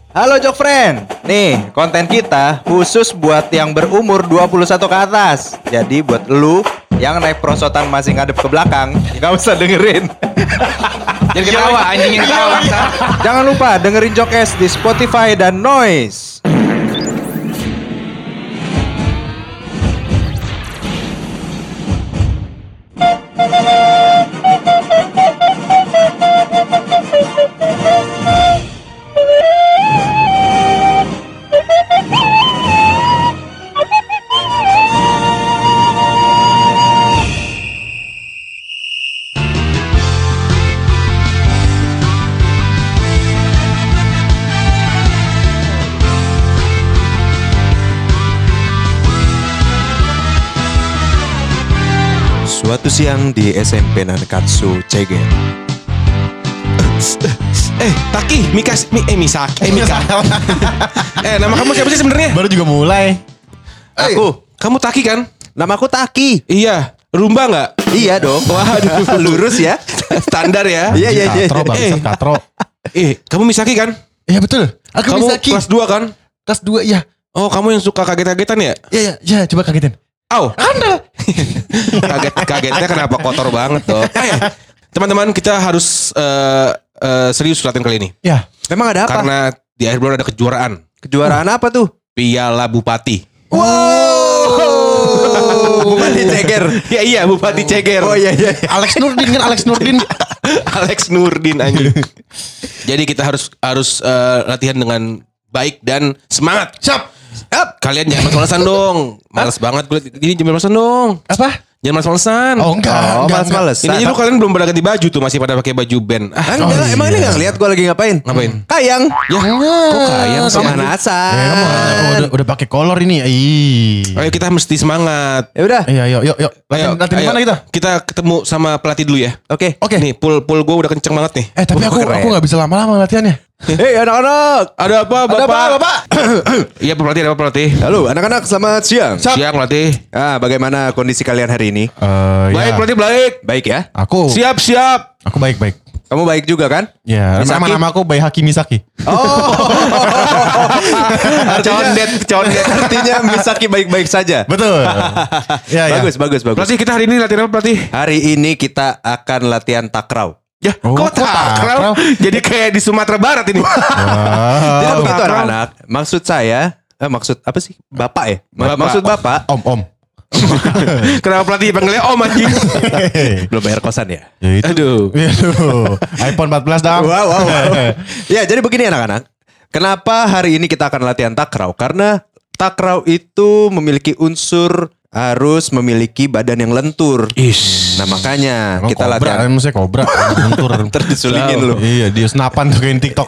Halo Jok Friend. Nih, konten kita khusus buat yang berumur 21 ke atas. Jadi buat lu yang naik perosotan masih ngadep ke belakang, gak usah dengerin. Jangan ketawa, anjing yang ketawa. Jangan lupa dengerin Jokes di Spotify dan Noise. Suatu siang di SMP Nankatsu Ceger. Taki, Mika. Nama kamu siapa sih sebenarnya? Baru juga mulai. Kamu Taki kan? Namaku Taki. Iya. Rumba nggak? Iya dong. Waduh, lurus ya. Standar ya. Iya. Katro bang, Katro. Kamu Misaki kan? Iya betul. Aku Kamu Misaki. kelas 2 kan? Kelas 2 ya. Oh, kamu yang suka kaget-kagetan ya? Iya, coba kagetin. Au. Anda. Kagetnya kenapa kotor banget tuh. Teman-teman, kita harus serius latihan kali ini. Ya. Memang ada apa? Karena di akhir bulan ada kejuaraan. Kejuaraan apa tuh? Piala Bupati. Wow. Bupati Ceger. Iya, Bupati Ceger. Oh iya. Alex Nurdin. Alex Nurdin anjing. Jadi kita harus latihan dengan baik dan semangat. Siap. Kalian jangan males-malesan dong. Males banget gue. Ini jangan males-malesan dong. Apa? Jangan males-malesan. Oh enggak. Males-malesan. Ini aja lu kalian belum pada ganti baju tuh, masih pada pakai baju band. Enggak, emang ini gak ngeliat gue lagi ngapain? Ngapain? Kayang. Ya, kok kayang sih? Pemanasan. Udah pakai kolor ini. Ayo kita mesti semangat. Ya udah. Iya, yuk. Latihan mana kita? Kita ketemu sama pelatih dulu ya. Oke. Nih, pul gue udah kenceng banget nih. Tapi aku enggak bisa lama-lama latihannya. Hei anak-anak. Ada apa, Bapak? Ada apa, Bapak? Iya, pelatih, ada apa pelatih? Halo anak-anak, selamat siang. Siang, pelatih. Bagaimana kondisi kalian hari ini? Baik, pelatih, baik. Baik ya? Aku Siap. Aku baik. Kamu baik juga kan? Ya, Misaki? nama aku Baihaki Misaki. Oh. Condet. Artinya Misaki baik-baik saja. Betul. Ya. Bagus. Pelatih, kita hari ini latihan apa, pelatih? Hari ini kita akan latihan takraw. Ya, kok takraw? Jadi kayak di Sumatera Barat ini. Tidak begitu takraw. anak-anak. Maksud saya, maksud apa sih? Bapak ya? Bapak. Maksud Bapak. Om. Kenapa pelatih panggilnya Om anjing? Belum bayar kosan ya? Ya itu. Aduh. iPhone 14 dong. Wow. Ya, jadi begini anak-anak. Kenapa hari ini kita akan latihan takraw? Karena takraw itu memiliki unsur harus memiliki badan yang lentur. Nah makanya Emang kita kobra, latihan. maksudnya kobra. Lentur. Terdisulingin lu. Iya, dia senapan tuh kayak TikTok.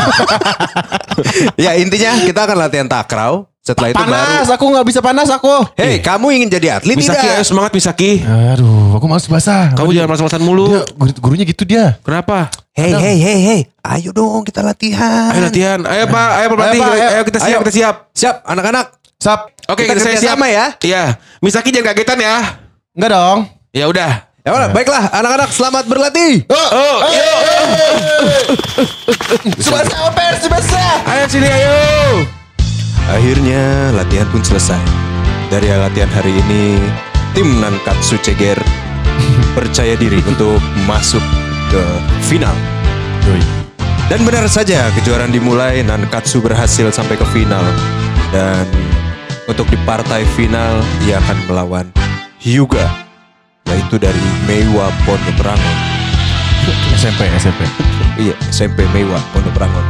Ya intinya kita akan latihan takraw. Setelah itu baru. Panas, aku nggak bisa panas aku. Hei, kamu ingin jadi atlet Misaki, ayo tidak? semangat Misaki. Aduh, aku males basah. Kamu jangan malas-malasan mulu. Dia, gurunya gitu dia. Kenapa? Hei. Ayo dong kita latihan. Ayo latihan. Ayo Pak pelatih. Pak, Ayo kita siap, ayo. kita siap. Siap anak-anak. Sap. Oke, Kita saya kerja siap. sama ya. Iya. Misaki jangan kagetan ya. Enggak dong. Ya udah. Ya udah, baiklah anak-anak selamat berlatih. Subasa. Ayo sini ayo. Akhirnya latihan pun selesai. Dari latihan hari ini, tim Nankatsu Ceger percaya diri untuk masuk ke final. Dan benar saja kejuaraan dimulai, Nankatsu berhasil sampai ke final. Dan untuk di partai final, ia akan melawan Hyuga, yaitu dari Meiwa Pondok Rangon. SMP. Iya, SMP Meiwa Pondok Rangon.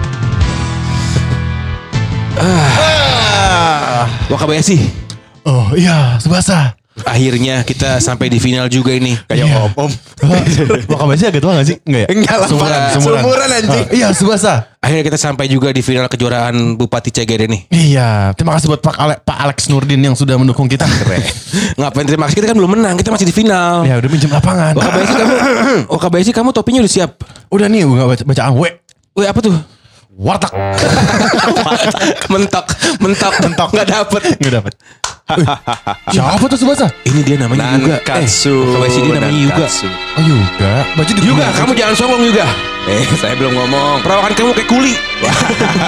Wakabayashi. Oh iya, Subasa. Akhirnya kita sampai di final juga ini. Kayak om-om. Wakabayashi agak tua gak sih? Enggak ya? Enggak lah, Sumuran anjing. Iya, Subasa. Akhirnya kita sampai juga di final kejuaraan Bupati Ceger ini. Iya, terima kasih buat Pak Alex Nurdin yang sudah mendukung kita. Keren. Ngapain terima kasih, kita kan belum menang, kita masih di final. Ya udah minjem lapangan. Wakabayashi kamu topinya udah siap. Udah nih, gue gak baca W. Wih, apa tuh? Warteg. mentok nggak dapet. Siapa tuh Subasa? Ini dia namanya Yuga. Nankatsu. Wakabayashi dia namanya Yuga. Oh Yuga. Baju di Yuga, kamu jangan songong Yuga. Saya belum ngomong. Perawakan kamu kayak kuli.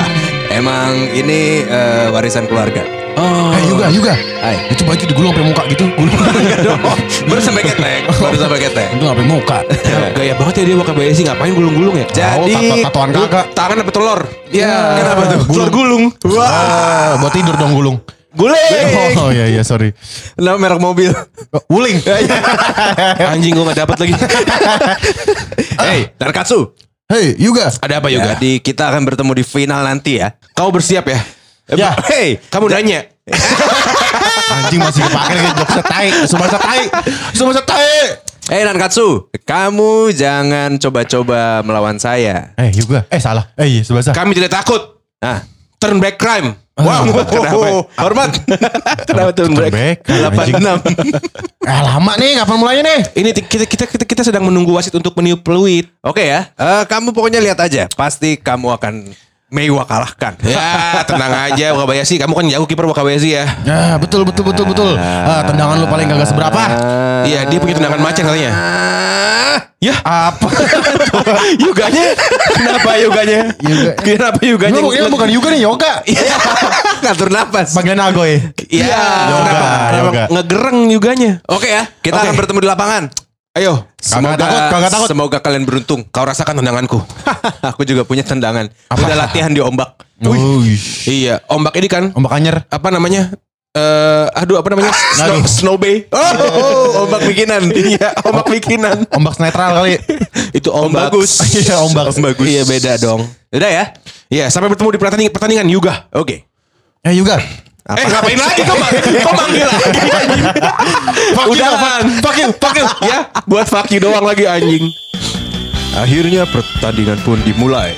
Emang ini warisan keluarga. Oh. Juga. Hai. Itu baju digulung sampai muka gitu. Gulung. Baru sampai ketek. Itu sampai muka. Gaya banget ya dia WKBSI, ngapain gulung-gulung ya? Jadi tatoan kagak. Tangan apa telur? Iya. Kenapa tuh? Telur gulung. Wah, buat tidur dong gulung. Guling. Oh iya sorry. Nama merek mobil. Wuling. Anjing gue gak dapet lagi. Hey, Nankatsu. Hey, Yuga. Ada apa Yoga? Jadi kita akan bertemu di final nanti ya. Kau bersiap ya? Ya. Hey, Kamu nanya. Anjing masih kepake lagi jokesnya tai. Subasa tai. hey Nankatsu, kamu jangan coba-coba melawan saya. Yuga. Salah. Iya, Subasa. Kami tidak takut. Nah, Turn back crime. wow, kenapa? Hormat. Kenapa turn back? 86. Lama nih, kapan mulainya nih? Ini kita sedang menunggu wasit untuk meniup peluit. Oke ya, kamu pokoknya lihat aja. Pasti kamu akan Meiwa kalahkan. Ya, tenang aja Wakabayashi. Kamu kan jago kiper Wakabayashi ya. Nah, betul. Tendangan lu paling kagak seberapa. Iya, dia punya tendangan macan katanya. Ya, Apa? Yuganya. Kenapa Yuganya? Kenapa Yuganya? Ini bukan Yuga nih, Yoga. Ngatur napas. Bagian Agoy. Iya, Yoga. ngegereng Yuganya. Oke ya, kita akan bertemu di lapangan. Ayo, Kagak takut. Semoga kalian beruntung. kau rasakan tendanganku. Aku juga punya tendangan. Udah latihan di ombak. Iya, ombak ini kan Ombak anyer. apa namanya? Apa namanya? Snow Bay. Ombak bikinan. Iya, ombak bikinan. Ombak netral kali. Itu ombak. Bagus. Iya, ombak. Bagus. Iya, beda dong. Udah ya. Iya, sampai bertemu di pertandingan Yuga. Oke. Yuga. Ngapain lagi kau manggil lagi? Udahan. Fuck you. Ya, buat fuck you doang lagi anjing. Akhirnya pertandingan pun dimulai.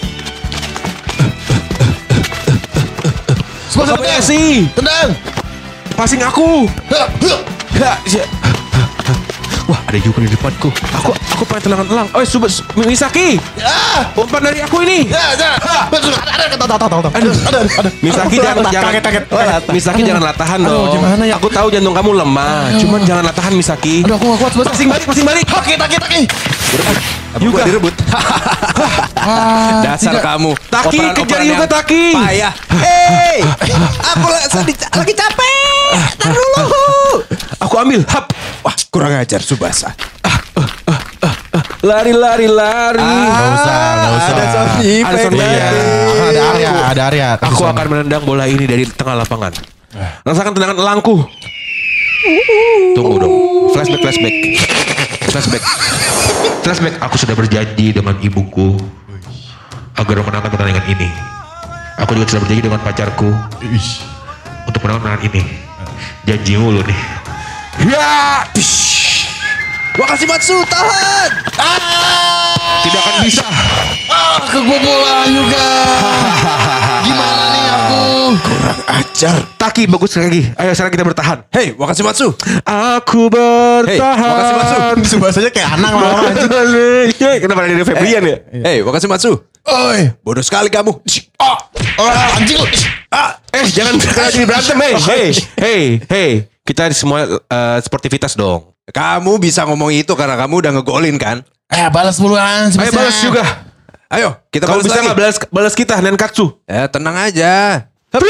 Wakabayashi, Tendang. passing aku. Wah, ada juga di depanku. Aku pengen tendangan elang. Oh, Misaki. Umpan dari aku ini. Misaki jangan Kaget. Misaki jangan latahan dong. gimana ya? Aku tahu jantung kamu lemah, cuman jangan latahan Misaki. Aduh, aku gak kuat. Passing balik. Taki. Yuga direbut. Dasar tidak. kamu. Taki, kejar Yuga, yang Taki. Payah. Hey, aku lagi capek. Tar dulu. Aku ambil. Hap. Wah, kurang ajar Subasa. Lari. Gak usah. Ada sound effect. Ada sound Iya, ada area. Aku akan menendang bola ini dari tengah lapangan. Rasakan tendangan elangku. Tunggu dong. Flashback. Aku sudah berjanji dengan ibuku agar memenangkan pertandingan ini. Aku juga sudah berjanji dengan pacarku untuk menangkan pertandingan ini. Janji mulu nih. Ya. Wakashimatsu, tahan. Tidak akan bisa. Kebobolan juga. Gimana nih aku? Kurang ajar. Taki bagus lagi. Ayo sekarang kita bertahan. Hey, Wakashimatsu. Aku bertahan. Hey, Wakashimatsu. Subasanya kayak Anang lama anjing. Kenapa ada Febrian ya? Hey, Wakashimatsu. Oi. Bodoh sekali kamu. Anjing lu. Jangan jadi berantem, hey. Kita semua sportivitas dong. Kamu bisa ngomong itu karena kamu udah ngegolin kan? Balas duluan. Ayo balas juga. Ayo, kita Kalau balas bisa lagi. nggak balas kita Nankatsu? Tenang aja.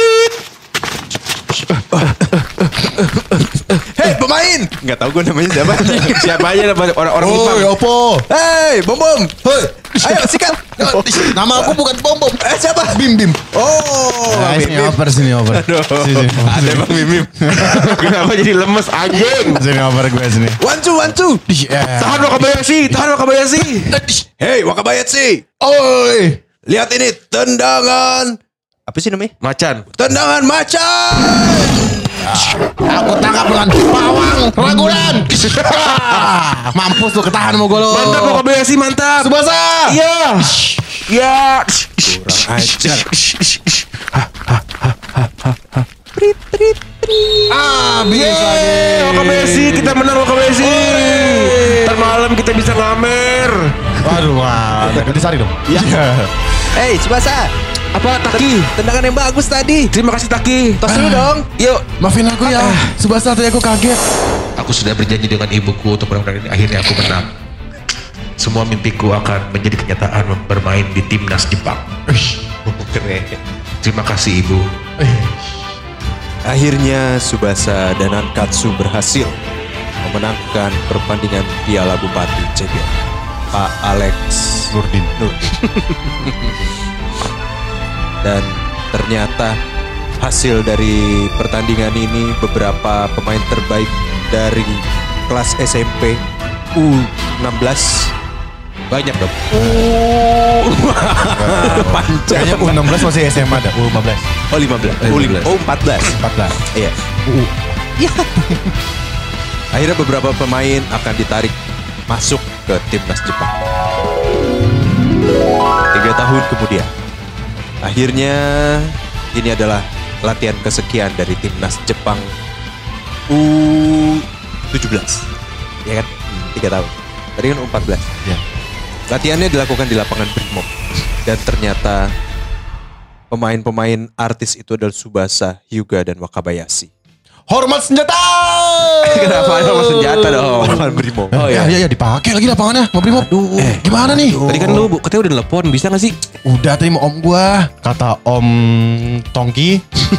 Hei, pemain. Nggak tahu gue namanya siapa. Siapa aja orang Jepang. Opo. Hei, Bom. Hei. Ayo, sikat. Nama aku bukan Bom. Siapa? Bim. Oh, Bang Sini Bim. sini oper. Sini. Ada Bang Bim. Kenapa jadi lemes anjing? Sini oper gue sini. One, two. Tahan Wakabayashi. Hei, Wakabayashi. Oi. Lihat ini tendangan. Apa sih namanya? Macan. Tendangan macan. Aku tangkap dengan pawang ragunan. Mampus lu ketahan mau gue lo. Mantap Wakabayashi, mantap. Subasa. Iya. Kurang ajar. Habis lagi. Wakabayashi, kita menang Wakabayashi. Ntar malam kita bisa ngamer. Waduh, Disari dong. Iya. Hei, Subasa. Apa Taki? Tendangan yang bagus tadi. Terima kasih Taki. Tos dulu dong. Yuk. Maafin aku ya. Subasa tadi aku kaget. Aku sudah berjanji dengan ibuku untuk menang ini. Akhirnya aku menang. Semua mimpiku akan menjadi kenyataan bermain di timnas Jepang. Keren. Terima kasih Ibu. Akhirnya Tsubasa dan Nankatsu berhasil memenangkan pertandingan Piala Bupati Ceger. Pak Alex Nurdin. Dan ternyata hasil dari pertandingan ini beberapa pemain terbaik dari kelas SMP U16 banyak dong. Kayaknya U16 masih SMA ada, U15. Oh 15. Oh 14. 14. Iya. Akhirnya beberapa pemain akan ditarik masuk ke timnas Jepang. 3 tahun kemudian. Akhirnya ini adalah latihan kesekian dari timnas Jepang U17. Ya kan? 3 tahun. Tadi kan U14. Ya. Latihannya dilakukan di lapangan Brimob. Dan ternyata pemain-pemain artis itu adalah Tsubasa, Hyuga, dan Wakabayashi. Hormat senjata. Kenapa ada sama senjata dong? Lapangan Brimob. Oh iya dipakai lagi lapangannya, mau Brimob. Gimana nih? Tadi kan lu katanya udah telepon, bisa gak sih? Udah tadi mau om gua, kata Om Tongki.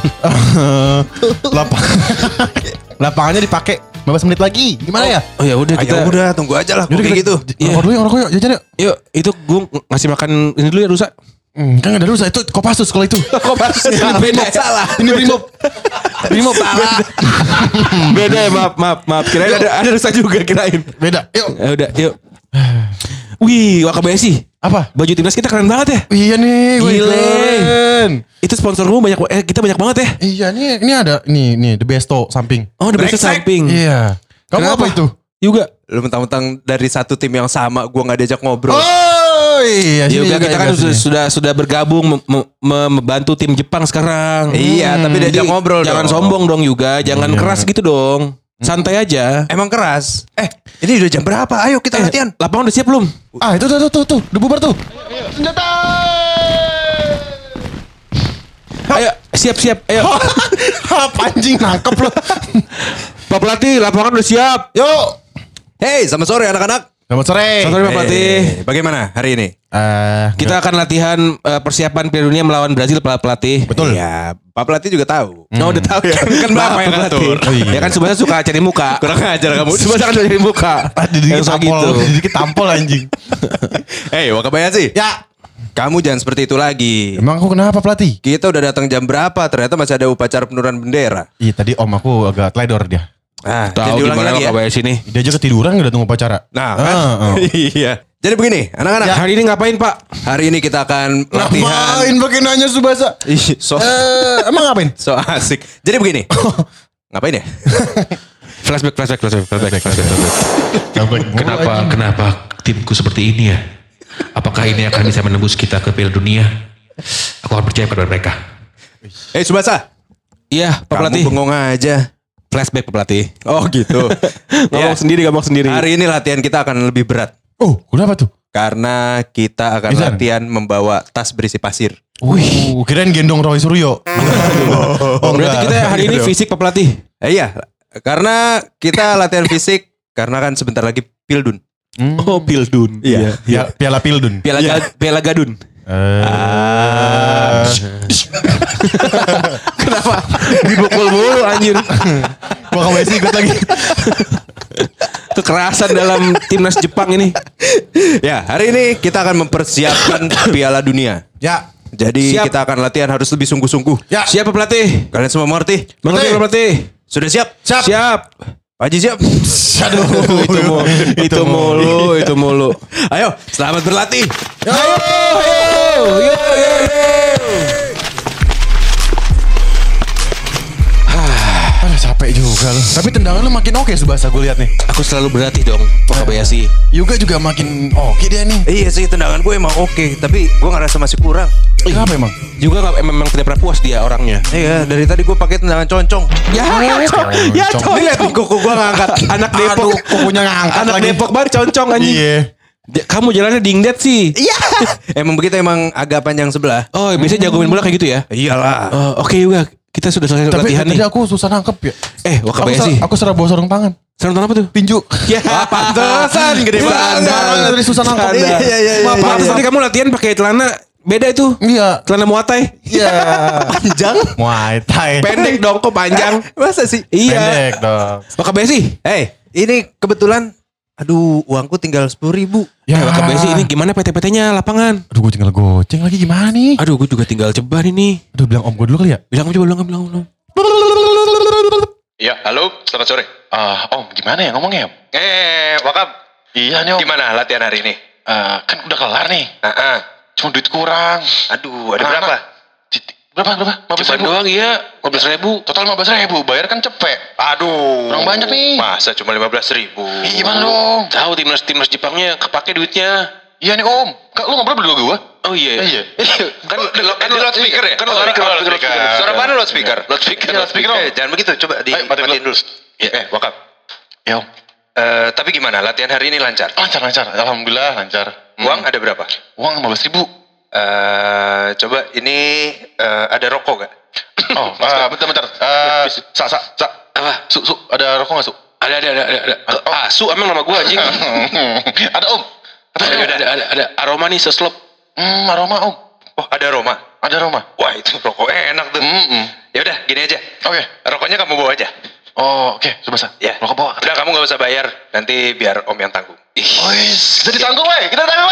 Lapangannya dipakai 15 menit lagi. Gimana ya? Oh ya udah kita. Ayo udah tunggu aja lah Yaudah, kayak gitu. Ngerokok yuk, jajan yuk. Yuk, itu gue ngasih makan ini dulu ya rusak. Kan gak ada rusak, itu Kopassus kalau itu. Kopassus beda salah. Ini Brimob. Brimob salah. Beda ya, maaf. Kirain ada rusak juga kirain. Beda, yuk. Ya udah, yuk. Wih, Wakabayashi. Apa? Baju timnas kita keren banget ya. Iya nih, Gile. keren. Itu sponsor gue kita banyak banget ya. Iya nih, ini ada nih The Besto samping. Oh, the best samping. Iya. Kamu Kenapa? apa itu? Juga. Lu mentang-mentang dari satu tim yang sama, gua nggak diajak ngobrol. Oh iya, Juga kita kan sudah bergabung membantu tim Jepang sekarang. Iya, tapi diajak ngobrol Jangan dong. sombong dong juga, jangan keras gitu dong. Santai aja. Emang keras. Ini udah jam berapa? Ayo kita latihan. Lapangan udah siap belum? Ah itu tuh, udah bubar tuh. Senjata. Ayo, siap. Ayo. Apa anjing nangkep lo. Pak Pelatih, lapangan udah siap. Yuk. Hey, selamat sore anak-anak. Selamat sore. Selamat sore Pak Pelatih. Bagaimana hari ini? Kita akan latihan persiapan Piala Dunia melawan Brazil, Pak Pelatih. Betul. Iya, Pak Pelatih juga tahu. Oh, udah tahu ya. Kan Bapak yang ngatur. Oh, iya. Ya kan Tsubasa suka cari muka. Kurang ajar kamu. Tsubasa kan suka cari muka. Dikit Yang suka tampol, gitu. dikit tampol anjing. Hey, Wakabayashi. Ya. Kamu jangan seperti itu lagi. Emang aku kenapa pelatih? Kita udah datang jam berapa? Ternyata masih ada upacara penurunan bendera. Iya tadi om aku agak teledor dia. Tahu gimana Wakabayashi nih. Dia aja ketiduran gak datang upacara. Nah, kan? Iya. Jadi begini, anak-anak. Ya, hari ini ngapain Pak? Hari ini kita akan latihan. Ngapain pakai nanya Tsubasa? Ih, Emang ngapain? so asik. Jadi begini. Ngapain ya? Flashback. Kenapa timku seperti ini ya? Apakah ini akan bisa menembus kita ke Piala Dunia? Aku akan percaya pada mereka. Tsubasa. Iya, Pak Kamu Pelatih. bengong aja. Flashback Pak Pelatih. Oh gitu. Ngomong sendiri. Hari ini latihan kita akan lebih berat. Oh kenapa tuh? Karena kita akan Bisa? latihan membawa tas berisi pasir. Kirain gendong Roy Suryo. Berarti kita hari ini fisik Pak Pelatih. Iya, karena kita latihan fisik. Karena kan sebentar lagi Pildun. Oh, Pildun. Iya. Piala Pildun. Piala Gadun. Kenapa dibukul mulu anjir? Wakabayashi ikut lagi. Kekerasan dalam timnas Jepang ini. Ya, hari ini kita akan mempersiapkan Piala Dunia. Ya. Jadi Siap. kita akan latihan harus lebih sungguh-sungguh. Ya. Siap Pak Pelatih. Kalian semua mengerti? Mengerti Pak Pelatih. Sudah siap? Siap. Pak Haji siap? Aduh. Itu mulu. Ayo, selamat berlatih. Yo. Aduh capek juga lu. Tapi tendangan lu makin oke Tsubasa gue lihat nih. Aku selalu berlatih dong, Wakabayashi. Yuga juga makin oke dia nih. Iya sih, tendangan gue emang oke, tapi gue ngerasa masih kurang. Kenapa emang? Juga memang tidak pernah puas dia orangnya. Iya, dari tadi gue pakai tendangan concong. Ya, Concong. Lihat nih kuku gue ngangkat. Anak Depok. Aduh, kukunya ngangkat Anak lagi. Depok banget concong anjing. Iya. Kamu jalannya dingdet sih. Iya. Emang begitu, emang agak panjang sebelah. Oh, biasanya jago main bola kayak gitu ya? Iyalah. Oke juga. Kita sudah selesai Tapi latihan tadi nih. aku susah nangkep ya. Wakabayashi. Aku serah bawa sarung tangan. Sarung tangan apa tuh? Tinju. Ya, Pantesan gede banget. Tadi susah nangkep. Iya. Iya. Maaf, tadi kamu latihan pakai celana Beda itu. Iya. Celana Muay Thai. Iya. Panjang. Muay Thai. Pendek dong kok panjang. Masa sih? Iya. Pendek dong. Waka Besi. Ini kebetulan aduh, uangku tinggal 10.000. Ya. Waka Besi ini gimana PT-PT-nya lapangan? Aduh gue tinggal goceng lagi gimana nih? Aduh gue juga tinggal ceban ini. Aduh bilang om gue dulu kali ya? Bilang bilang. Ya, halo, selamat sore. Om gimana ya ngomongnya? Wakab. Iya nih om. Gimana latihan hari ini? Kan udah kelar nih. Cuma duit kurang. Aduh, ada berapa? Berapa? 15.000 doang iya, 15.000. Total 15.000. Bayar kan cepet. Aduh. Kurang banyak nih. Masa cuma 15.000? Gimana dong? Tahu timnas Jepangnya kepake duitnya. Iya nih om. Lu ngobrol berdua gue? Oh iya. Iya. Kan di loudspeaker ya? Kan loudspeaker. Suara mana loudspeaker? Loudspeaker, Om. Jangan begitu, coba dimatiin dulu. Wakab. Ya om. Tapi gimana? Latihan hari ini lancar? Lancar. Alhamdulillah lancar. Uang ada berapa? Uang 15.000. Coba ini ada rokok gak? Oh, bentar. Sa. Apa? Su, ada rokok gak su? Ada. Su emang nama gua anjing. Ada om. Ada aroma nih seslop. Aroma om. Oh, ada aroma. Ada aroma. Wah, itu rokok enak tuh. Ya udah, gini aja. Oke. Rokoknya kamu bawa aja. Oh, oke. Subasa. Ya. Rokok bawa. Udah, kamu gak usah bayar. Nanti biar om yang tanggung. Kita ditanggung, wey.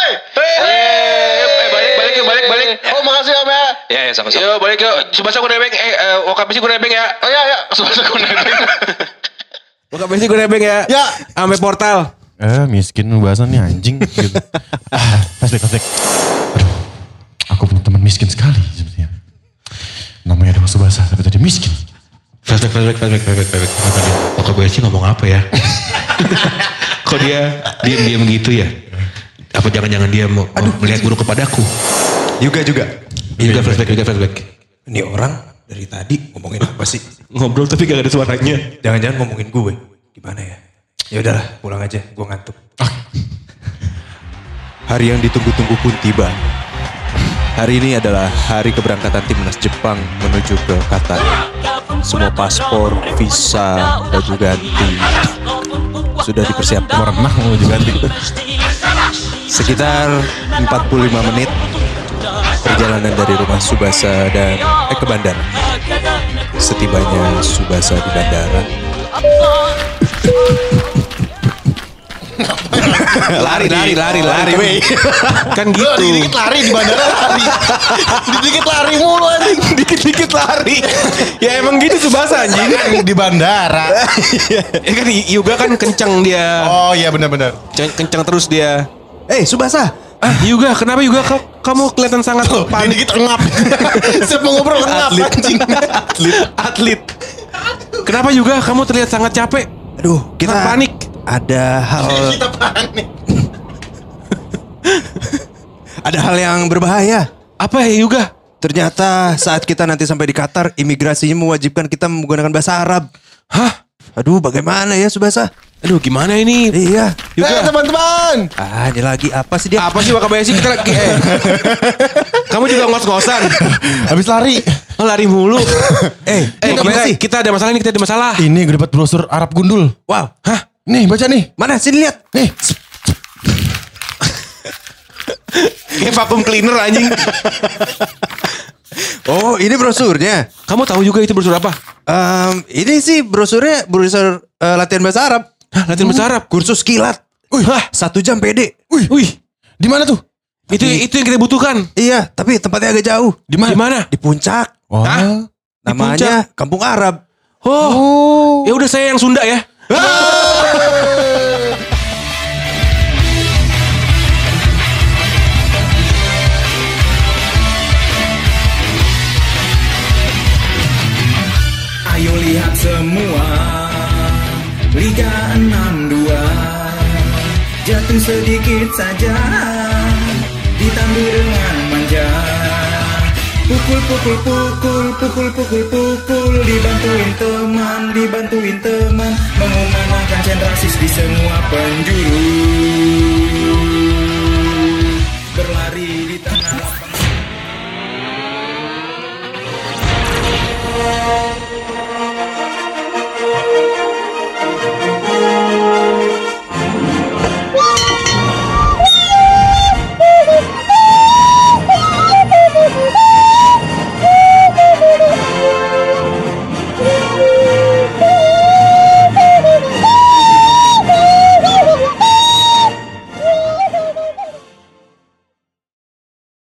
Balik. Oh, makasih om ya. Ya, sama-sama. Yo balik yuk. Subasa gue nebeng. Waka Besi gue nebeng ya. Oh iya. Subasa gue nebeng. Waka Besi gue nebeng ya. Ya. Ame portal. Miskin bahasan nih anjing. Gitu. Flashback. Aduh, aku punya teman miskin sekali sepertinya. Namanya Dewa Subasa, tapi tadi miskin. Flashback. Waka Besi ngomong apa ya? Kok dia diam gitu ya? Apa jangan-jangan dia mau melihat buruk kepadaku? Juga. Juga flashback. Ini orang dari tadi ngomongin apa sih? Ngobrol tapi gak ada suaranya. Jangan-jangan ngomongin gue. Gimana ya? Ya udahlah, pulang aja. Gue ngantuk. Hari yang ditunggu-tunggu pun tiba. Hari ini adalah hari keberangkatan timnas Jepang menuju ke Qatar. Semua paspor, visa, baju ganti sudah dipersiapkan. Merenang baju ganti. Sekitar 45 menit perjalanan dari rumah Subasa dan ke bandara. Setibanya Subasa di bandara, lari, wey. Kan gitu. Dikit-dikit lari di bandara lari. Dikit lari mulu anjing. Dikit-dikit lari. Ya emang gitu Subasa anjing. Kan di bandara. Ya kan Yuga kan kencang dia. Oh iya benar. Kencang terus dia. Subasa. Yuga, kenapa Yuga kamu kelihatan sangat panik? Dikit engap. Siapa ngobrol engap anjing. Atlet. Kenapa Yuga kamu terlihat sangat capek? Aduh, kita Sangat panik. Ada hal Kita panik. ada hal yang berbahaya. Apa ya Yuga? Ternyata saat kita nanti sampai di Qatar, imigrasinya mewajibkan kita menggunakan bahasa Arab. Hah? Aduh, bagaimana ya Subasa? Aduh gimana ini? Iya. Yuga. Teman-teman. Ini lagi apa sih dia? Apa sih Wakabayashi kita lagi Kamu juga ngos-ngosan. Habis lari. Oh, lari mulu. Wakabayashi. kita ada masalah ini, kita ada masalah. Ini gue dapat brosur Arab gundul. Wow. Hah? Nih baca nih. Mana? Sini lihat. Nih. Kayak vacuum cleaner anjing. Oh, ini brosurnya. Kamu tahu juga itu brosur apa? Ini sih brosur latihan bahasa Arab. Hah, latihan bahasa Arab. Kursus kilat. Hah, 1 jam PD. Wih, Di mana tuh? itu yang kita butuhkan. Iya, tapi tempatnya agak jauh. Di mana? Di puncak. Oh. Hah? Namanya Kampung Arab. Oh. Ya udah saya yang Sunda ya. Ayo lihat semua Liga 62 jatuh sedikit saja ditandu dengan manja. Pukul dibantuin teman mengumandangkan sentrasis di semua penjuru. Berlari di tengah